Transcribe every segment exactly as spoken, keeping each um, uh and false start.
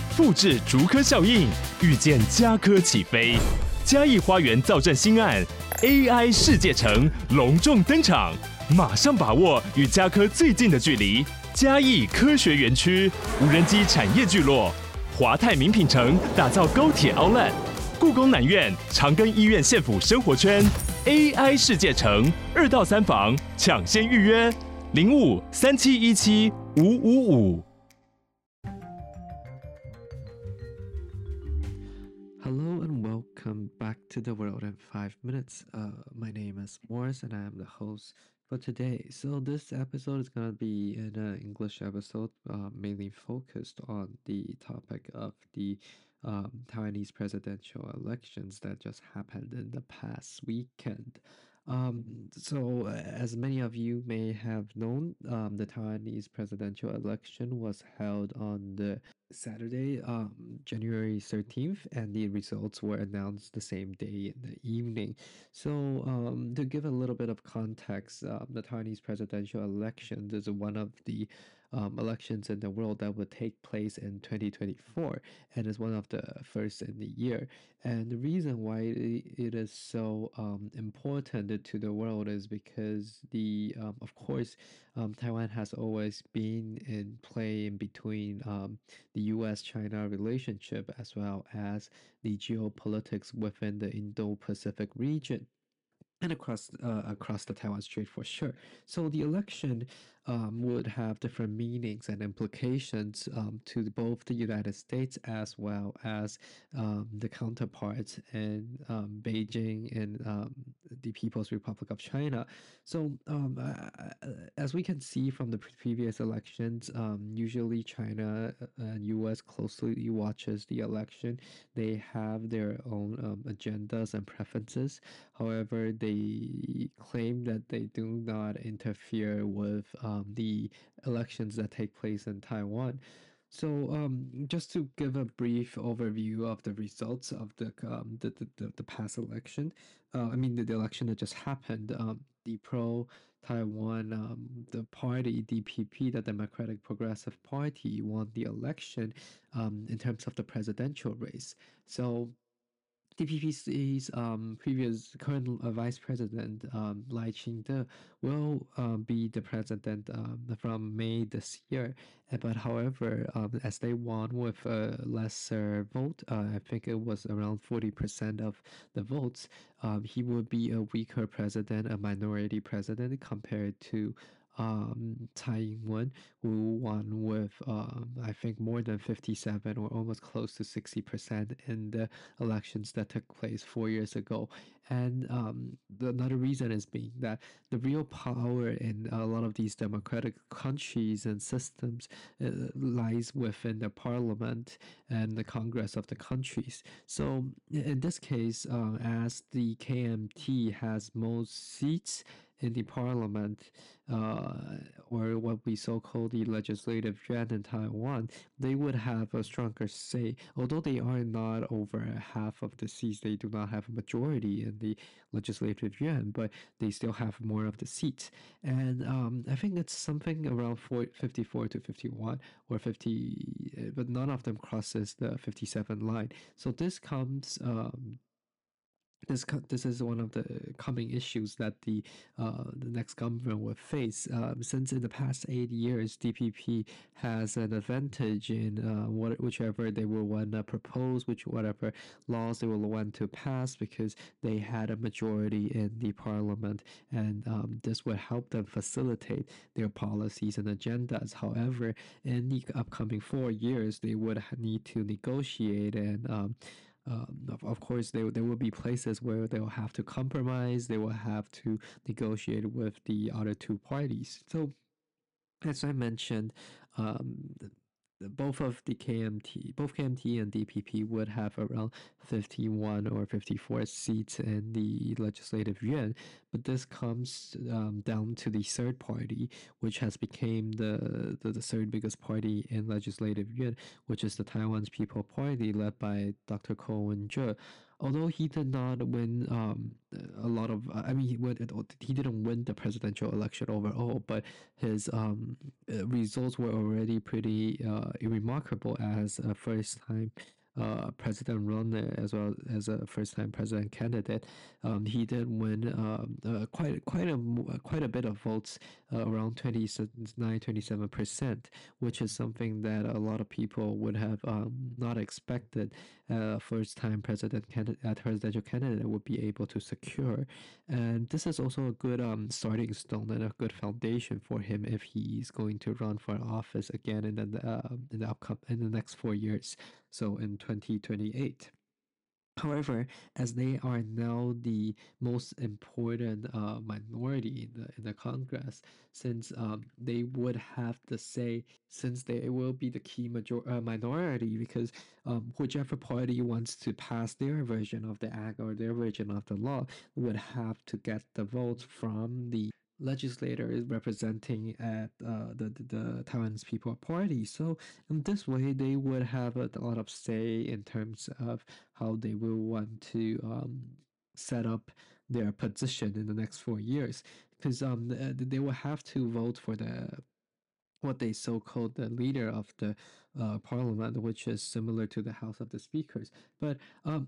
複製竹科效應，預見家科起飛。嘉義花園造鎮新案 A I 世界城隆重登場，馬上把握與家科最近的距離。嘉義科學園區無人機產業聚落，華泰名品城打造高鐵 Outlet， 故宮南院長庚醫院縣府生活圈 A I 世界城二到三房搶先預約零五三七一七五五五。 Hello and welcome back to the world in five minutes. Uh, my name is Morris and I am the host for today. So this episode is going to be an uh, English episode, uh, mainly focused on the topic of the um, Taiwanese presidential elections that just happened in the past weekend. Um, so uh, as many of you may have known, um, the Taiwanese presidential election was held on the Saturday, um, January thirteenth, and the results were announced the same day in the evening. So, um, to give a little bit of context, um, the Taiwanese presidential election is one of the um, elections in the world that would take place in twenty twenty-four, and is one of the first in the year. And the reason why it is so um, important to the world is because the, um, of course, um, Taiwan has always been in play in between um, the U S China relationship as well as the geopolitics within the Indo-Pacific region and across uh, across the Taiwan Strait for sure. So the election um, would have different meanings and implications um, to both the United States as well as um, the counterparts in um, Beijing and um, the People's Republic of China. So um, uh, as we can see from the pre- previous elections, um, usually China and U S closely watches the election. They have their own um, agendas and preferences. However, they claim that they do not interfere with um, the elections that take place in Taiwan. So, um, just to give a brief overview of the results of the um, the, the, the, the past election, uh, I mean the, the election that just happened, um, the pro Taiwan um, the party D P P, the Democratic Progressive Party, won the election um, in terms of the presidential race. So D P P's um, previous current uh, vice president um, Lai Ching-te will uh, be the president um, from May this year. Uh, But however, um, as they won with a lesser vote, uh, I think it was around forty percent of the votes, um, he would be a weaker president, a minority president compared to um, Tsai Ing-wen, who won with um, I think more than fifty-seven or almost close to sixty percent in the elections that took place four years ago. And um, the, another reason is being that the real power in a lot of these democratic countries and systems uh, lies within the parliament and the Congress of the countries. So in this case, uh, as the K M T has most seats in the parliament, uh, or what we so-call the legislative yuan in Taiwan, they would have a stronger say. Although they are not over half of the seats, they do not have a majority in the legislative yuan, but they still have more of the seats. And um, I think it's something around fifty-four to fifty-one or fifty, but none of them crosses the fifty-seven line. So this comes um, this this is one of the coming issues that the uh, the next government will face. Um, since in the past eight years, D P P has an advantage in uh, what whichever they will want to propose, which whatever laws they will want to pass, because they had a majority in the parliament, and um, this would help them facilitate their policies and agendas. However, in the upcoming four years, they would need to negotiate and um, um, of, of course, there, there will be places where they will have to compromise, they will have to negotiate with the other two parties. So, as I mentioned, um, both of the K M T, both K M T and D P P would have around fifty-one or fifty-four seats in the legislative yuan. but this comes um, down to the third party, which has become the, the the third biggest party in Legislative Yuan, which is the Taiwan's People Party, led by Doctor Ko Wen-je. Although he did not win um, a lot of, I mean, he, went, he didn't win the presidential election overall, but his um, uh, results were already pretty uh, remarkable as a first-time uh, president runner as well as a first-time president candidate. Um, he did win um, uh, quite quite a quite a bit of votes, uh, around twenty-nine, twenty-seven percent, which is something that a lot of people would have um, not expected. Uh, first-time president candidate, uh, presidential candidate would be able to secure, and this is also a good um, starting stone and a good foundation for him if he's going to run for office again in the uh, in the upcoming in the next four years. So in twenty twenty-eight. However, as they are now the most important uh, minority in the in the Congress, since um, they would have the say, since they will be the key major uh, minority, because um, whichever party wants to pass their version of the act or their version of the law would have to get the votes from the legislators representing at uh, the, the the Taiwan's People Party. So in this way, they would have a, a lot of say in terms of how they will want to um, set up their position in the next four years, because um, th- they will have to vote for the what they so-called the leader of the uh, parliament, which is similar to the House of the Speakers. But um,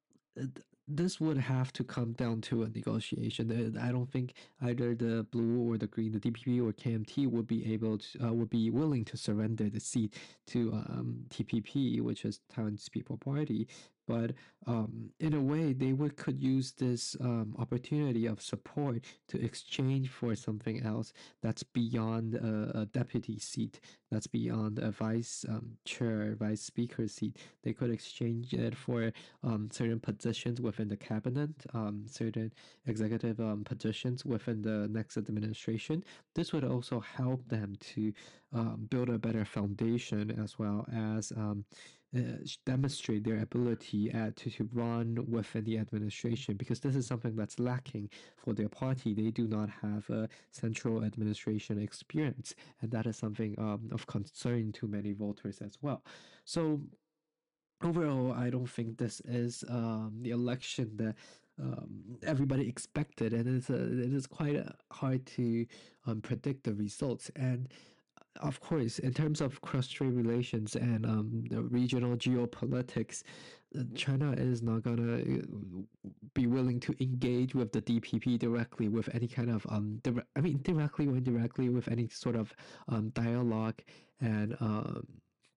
this would have to come down to a negotiation. I don't think either the blue or the green, the D P P or K M T, would be able to, uh, would be willing to surrender the seat to um, T P P, which is Taiwan's People Party. But um, in a way, they would could use this um, opportunity of support to exchange for something else that's beyond a, a deputy seat, that's beyond a vice um, chair, vice speaker seat. They could exchange it for um, certain positions within the cabinet, um, certain executive um, positions within the next administration. This would also help them to um, build a better foundation as well as um, uh, demonstrate their ability at, to, to run within the administration, because this is something that's lacking for their party. They do not have a central administration experience, and that is something um, of concern to many voters as well. So overall, I don't think this is um, the election that um, everybody expected, and it's a, it is quite uh, hard to um, predict the results. And of course, in terms of cross-strait relations and um, the regional geopolitics, uh, China is not gonna uh, be willing to engage with the D P P directly with any kind of um, dire- I mean, directly or indirectly with any sort of um, dialogue and um,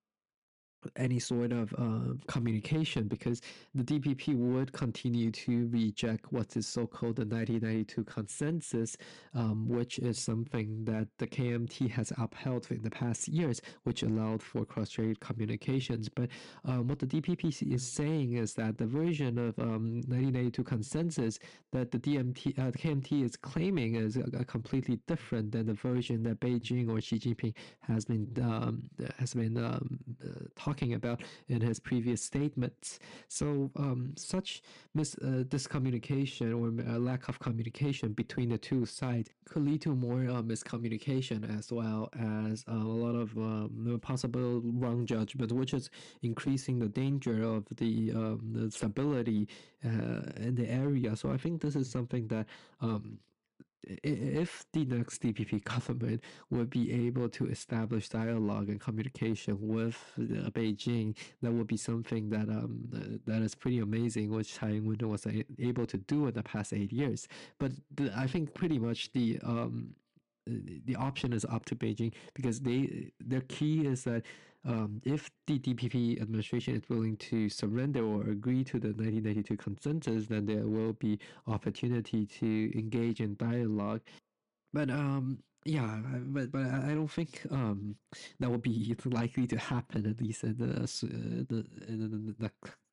any sort of uh, communication, because the D P P would continue to reject what is so-called the nineteen ninety-two consensus, um, which is something that the K M T has upheld in the past years, which allowed for cross-strait communications. But um, what the D P P is saying is that the version of um, nineteen ninety-two consensus that the D M T, uh, the K M T is claiming is a, a completely different than the version that Beijing or Xi Jinping has been um, has been um, uh, talking about in his previous statements. So um, such mis- uh, miscommunication or uh, lack of communication between the two sides could lead to more uh, miscommunication, as well as uh, a lot of um, possible wrong judgment, which is increasing the danger of the, um, the stability uh, in the area. So I think this is something that um, if the next D P P government would be able to establish dialogue and communication with uh, Beijing, that would be something that um uh, that is pretty amazing, which Tsai Ing-wen was a- able to do in the past eight years. But the, I think pretty much the um the option is up to Beijing, because they their key is that um, if the D P P administration is willing to surrender or agree to the nineteen ninety-two consensus, then there will be opportunity to engage in dialogue. But um, yeah, but but I don't think um that will be likely to happen, at least in the s- uh, the in the, the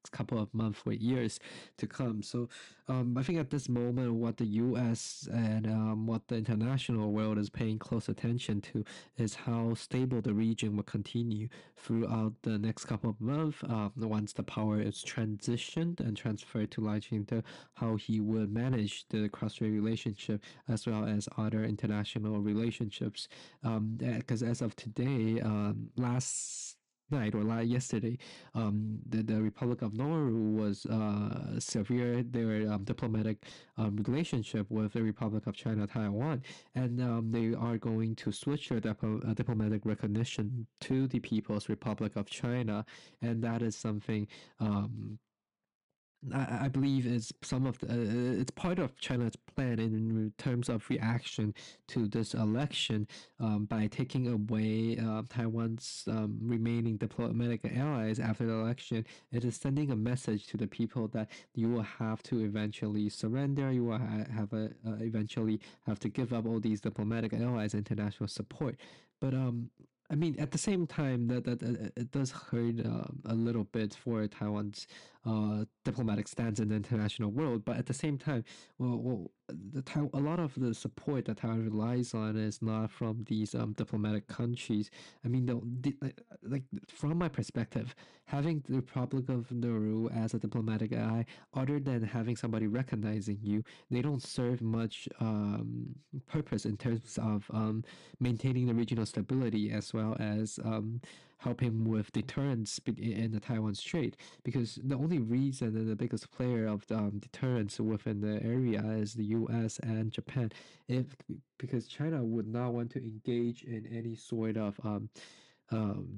next couple of months or years to come. So um, I think at this moment, what the U S and um, what the international world is paying close attention to is how stable the region will continue throughout the next couple of months um, once the power is transitioned and transferred to Lai Ching-te, how he would manage the cross-strait relationship as well as other international relationships. Because um, as of today, um, last night or like yesterday, um, the, the Republic of Nauru was uh, severe their um, diplomatic um, relationship with the Republic of China, Taiwan, and um, they are going to switch their dip- uh, diplomatic recognition to the People's Republic of China, and that is something. Um, I, I believe it's some of the, uh, it's part of China's plan in terms of reaction to this election um, by taking away uh, Taiwan's um, remaining diplomatic allies after the election. It is sending a message to the people that you will have to eventually surrender. You will ha- have a uh, eventually have to give up all these diplomatic allies, international support. But um, I mean, at the same time, that that uh, it does hurt uh, a little bit for Taiwan's uh, diplomatic stance in the international world. But at the same time, well, well the Taiwan, a lot of the support that Taiwan relies on is not from these um, diplomatic countries. I mean, the, the, like from my perspective, having the Republic of Nauru as a diplomatic ally, other than having somebody recognizing you, they don't serve much um, purpose in terms of um, maintaining the regional stability as well as um, helping with deterrence in the Taiwan Strait. Because the only reason and the biggest player of the, um, deterrence within the area is the U S and Japan. If because China would not want to engage in any sort of um, um,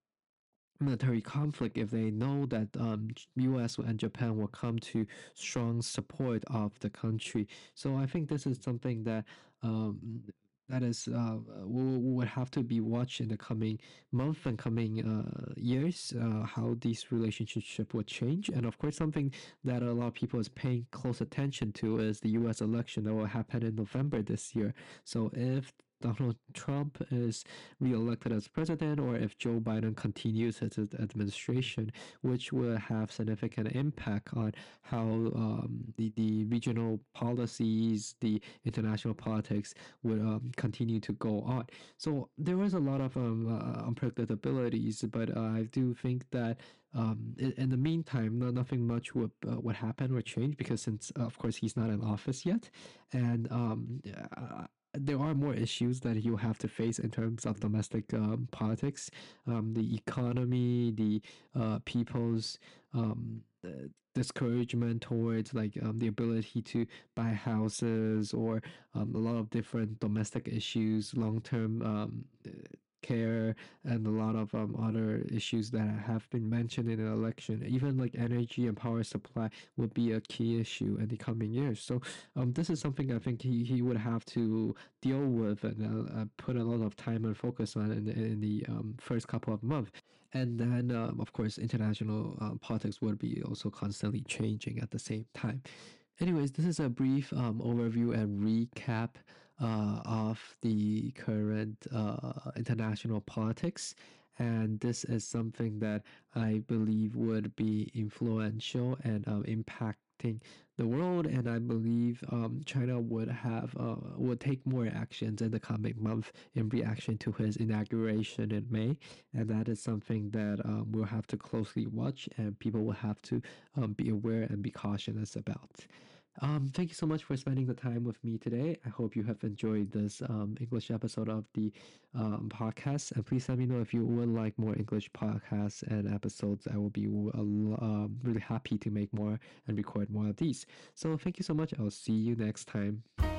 military conflict if they know that um, U S and Japan will come to strong support of the country. So I think this is something that um, that is uh, we would have to be watched in the coming month and coming uh, years, uh, how these relationships will change. And of course, something that a lot of people is paying close attention to is the U S election that will happen in November this year. So if Donald Trump is reelected as president, or if Joe Biden continues his administration, which will have significant impact on how um, the, the regional policies, the international politics would um, continue to go on. So there was a lot of um, uh, unpredictabilities, but uh, I do think that um, in, in the meantime, no, nothing much would uh, would happen or change because since uh, of course he's not in office yet, and um, uh, there are more issues that you have to face in terms of domestic um, politics, um, the economy, the uh, people's um, uh, discouragement towards like um, the ability to buy houses, or um, a lot of different domestic issues, long-term um, care, and a lot of um, other issues that have been mentioned in the election. Even like energy and power supply would be a key issue in the coming years. So um, this is something I think he, he would have to deal with and uh, uh, put a lot of time and focus on in, in the um, first couple of months. And then, um, of course, international uh, politics would be also constantly changing at the same time. Anyways, this is a brief um, overview and recap uh, of the current uh, international politics. And this is something that I believe would be influential and um, impacting the world. And I believe um, China would have uh, would take more actions in the coming month in reaction to his inauguration in May. And that is something that um, we'll have to closely watch, and people will have to um, be aware and be cautious about. Um, thank you so much for spending the time with me today. I hope you have enjoyed this um, English episode of the um, podcast. And please let me know if you would like more English podcasts and episodes. I will be uh, um, really happy to make more and record more of these. So thank you so much. I'll see you next time.